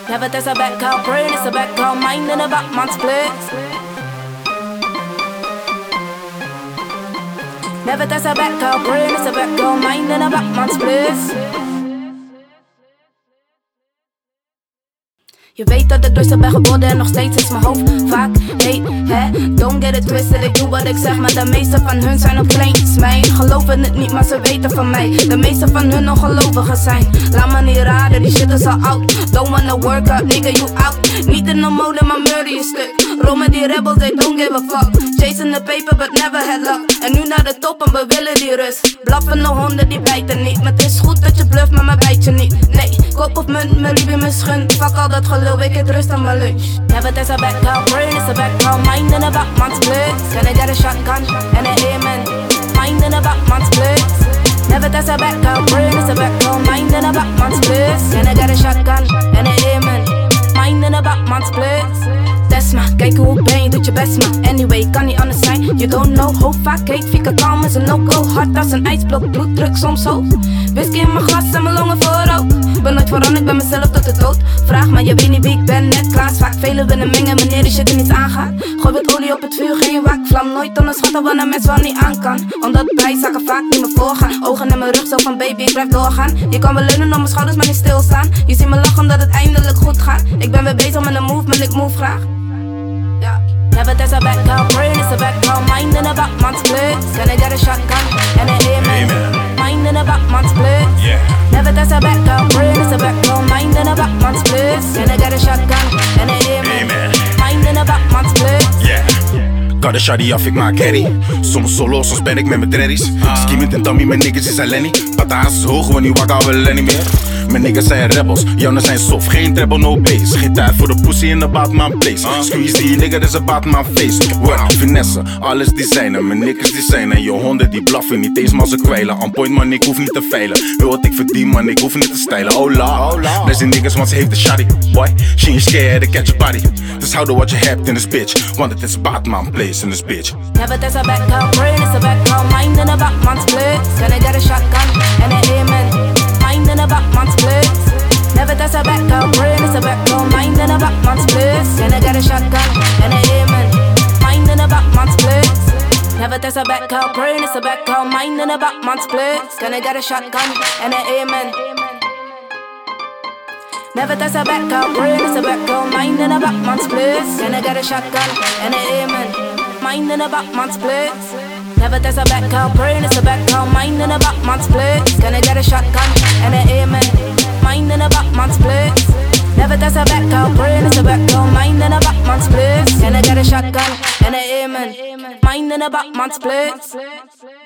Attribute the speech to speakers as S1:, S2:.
S1: Never test a back girl brain, it's a back girl mind in a Batman split. Never test a back girl brain, it's a back girl mind in a Batman split. Je weet dat ik rustig ben geworden en nog steeds is mijn hoofd vaak heet, hè? Don't get it twisted, ik doe wat ik zeg, maar de meeste van hun zijn op kleintjes. Mij geloven het niet, maar ze weten van mij. De meeste van hun ongelovigen zijn. Laat me niet raden, die shit is al oud. Don't wanna work out, nigga, you out. Niet in de mode, maar murder je stuk. Rol met die rebels, they don't give a fuck. Chasing the paper, but never had luck. En nu naar de top en we willen die rust. Blaffende honden, die bijten niet. Maar het is goed dat je bluft, maar mij bijt je niet. Nee, kop of munt, mijn liefde me schund. Fuck al dat gelul, ik het rust aan mijn lunch. Never test a back girl brain, it's a back girl mind in a Batman split. Can I get a shotgun and an amen? Mind in a Batman split. Never test a back girl brain, it's a back girl mind in a Batman split. Can I get a shotgun and an amen? Mind in a Batman split. Desma, kijk hoe ben je, doet je best maar. Anyway, kan niet anders zijn, you don't know. Hoe vaak heet, fika kalm is een no-go. Hard als een ijsblok, bloeddruk soms hoog. Whisky in mijn glas en mijn longen voorrook. Ben nooit veranderd, ik ben mezelf tot de dood. Vraag maar, je weet niet wie ik ben, net Klaas. Vaak velen willen mengen wanneer die shit er niet aangaat. Gooi wat olie op het vuur, geen waakvlam. Nooit onderschatten wanneer een mens wel niet aan kan. Omdat bijzakken vaak niet meer voorgaan. Ogen in mijn rug, zo van baby, ik blijf doorgaan. Je kan wel leunen op mijn schouders, maar niet stilstaan. Je ziet me lachen omdat het eindelijk goed gaat. Ik ben weer bezig met een movement, ik move graag. Yeah. Never test a back girl brain, it's a back girl mind in a Batman split. Can I get a shotgun and an amen? Mind in a Batman split.
S2: Yeah.
S1: Never test a back girl brain, it's a back girl mind in a Batman split. Can I get a shotgun and an amen? Mind in a Batman split.
S2: Yeah. Kan de shawty af, ik maak herrie. Soms solo, soms ben ik met mijn dreddies. Skimmend en Tommy, mijn niggas is Lenny. Pataas is hoog, want die wakker willen niet meer. Mijn niggas zijn rebels, jouw zijn soft. Geen treble, no bass. Geen tijd voor de pussy in de Batman place. Squeeze die nigga, dat is een Batman face. What? Finesse, alles designen. Mijn niggas designen. Je honden die blaffen, niet eens maar ze kwijlen. On point man, ik hoef niet te veilen. Wil wat ik verdien man, ik hoef niet te stylen. Oh la, bless die niggas, want ze heeft de shawty. Boy, she ain't scared to catch a body. Dus hou de wat je hebt in this bitch. Want het is Batman place in this bitch.
S1: Never test a back girl brain, it's a back girl mind in a Batman split. Can I get a shotgun and an amen? Mind in a Batman split. Never test a back girl brain, it's a back girl mind in a Batman split. Can I get a shotgun and an amen? Mind in a Batman split. Never test a back girl brain, it's a back girl mind in a Batman split. Can I get a shotgun and an amen? Never test a back girl brain, it's a back girl mind in a Batman split. Can I get a shotgun and an amen? Mind in a Batman split. Never test a back girl brain, it's a back girl mind in a Batman split. Can I get a shotgun and an amen? Mind in a Batman split. Never test a back girl brain, it's a back girl mind in a Batman split. Can I get a shotgun and an amen? Mind in a Batman split.